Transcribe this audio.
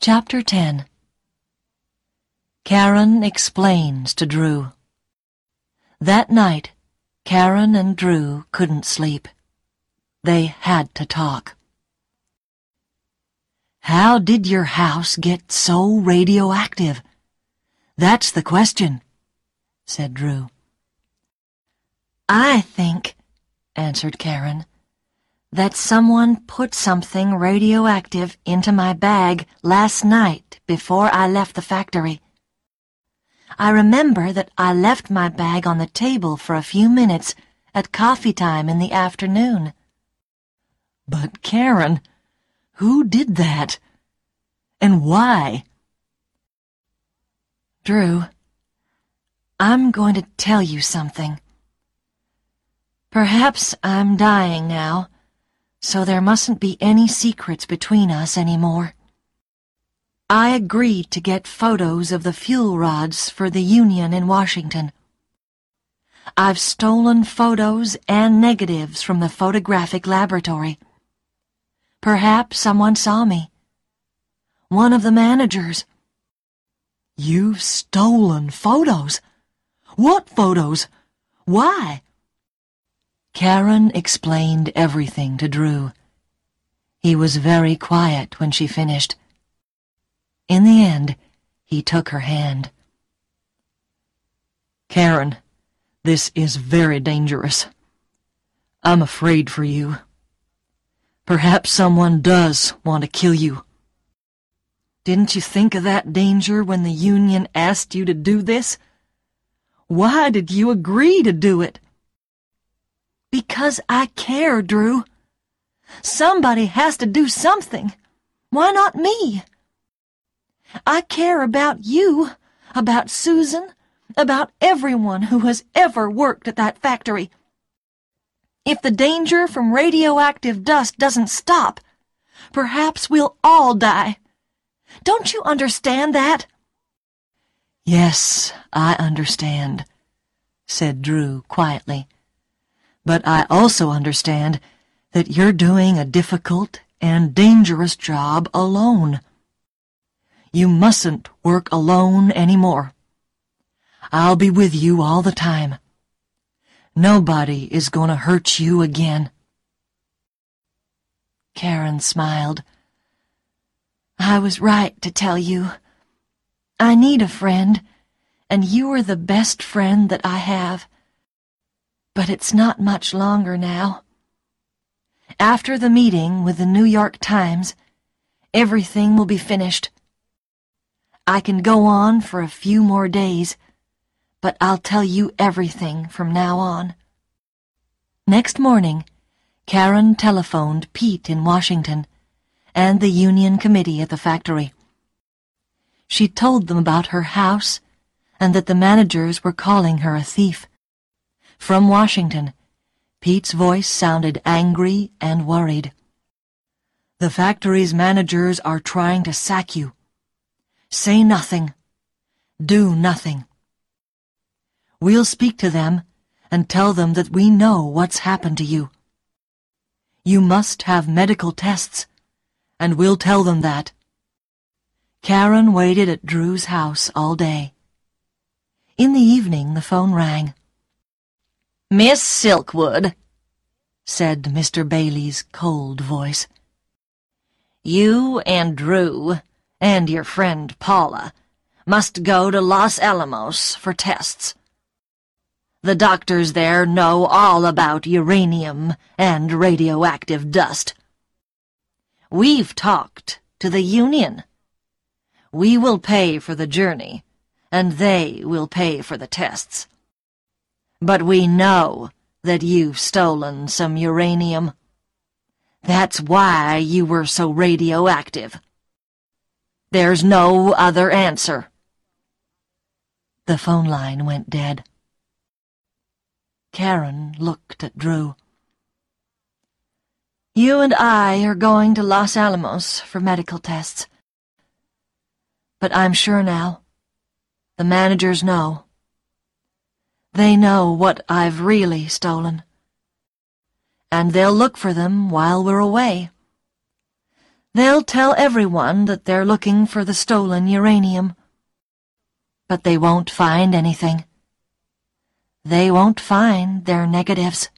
Chapter 10. Karen explains to Drew. That night, Karen and Drew couldn't sleep. They had to talk. How did your house get so radioactive? That's the question, said Drew. I think, answered Karen, that someone put something radioactive into my bag last night before I left the factory. I remember that I left my bag on the table for a few minutes at coffee time in the afternoon. But Karen, who did that? And why? Drew, I'm going to tell you something. Perhaps I'm dying now, so there mustn't be any secrets between us anymore. I agreed to get photos of the fuel rods for the union in Washington. I've stolen photos and negatives from the photographic laboratory. Perhaps someone saw me. One of the managers. You've stolen photos? What photos? Why? Karen explained everything to Drew. He was very quiet when she finished. In the end, he took her hand. Karen, this is very dangerous. I'm afraid for you. Perhaps someone does want to kill you. Didn't you think of that danger when the union asked you to do this? Why did you agree to do it? Because I care, Drew. Somebody has to do something. Why not me? I care about you, about Susan, about everyone who has ever worked at that factory. If the danger from radioactive dust doesn't stop, perhaps we'll all die. Don't you understand that? Yes, I understand, said Drew quietly. But I also understand that you're doing a difficult and dangerous job alone. You mustn't work alone anymore. I'll be with you all the time. Nobody is going to hurt you again. Karen smiled. I was right to tell you. I need a friend, and you are the best friend that I have. But it's not much longer now. After the meeting with the New York Times, everything will be finished. I can go on for a few more days, but I'll tell you everything from now on. Next morning, Karen telephoned Pete in Washington and the union committee at the factory. She told them about her house and that the managers were calling her a thief. From Washington, Pete's voice sounded angry and worried. The factory's managers are trying to sack you. Say nothing. Do nothing. We'll speak to them and tell them that we know what's happened to you. You must have medical tests, and we'll tell them that. Karen waited at Drew's house all day. In the evening, the phone rang. Miss Silkwood, said Mr. Bailey's cold voice. You and Drew and your friend Paula must go to Los Alamos for tests. The doctors there know all about uranium and radioactive dust. We've talked to the union. We will pay for the journey, and they will pay for the tests. But we know that you've stolen some uranium. That's why you were so radioactive. There's no other answer. The phone line went dead. Karen looked at Drew. You and I are going to Los Alamos for medical tests. But I'm sure now. The managers know. They know what I've really stolen. And they'll look for them while we're away. They'll tell everyone that they're looking for the stolen uranium. But they won't find anything. They won't find their negatives.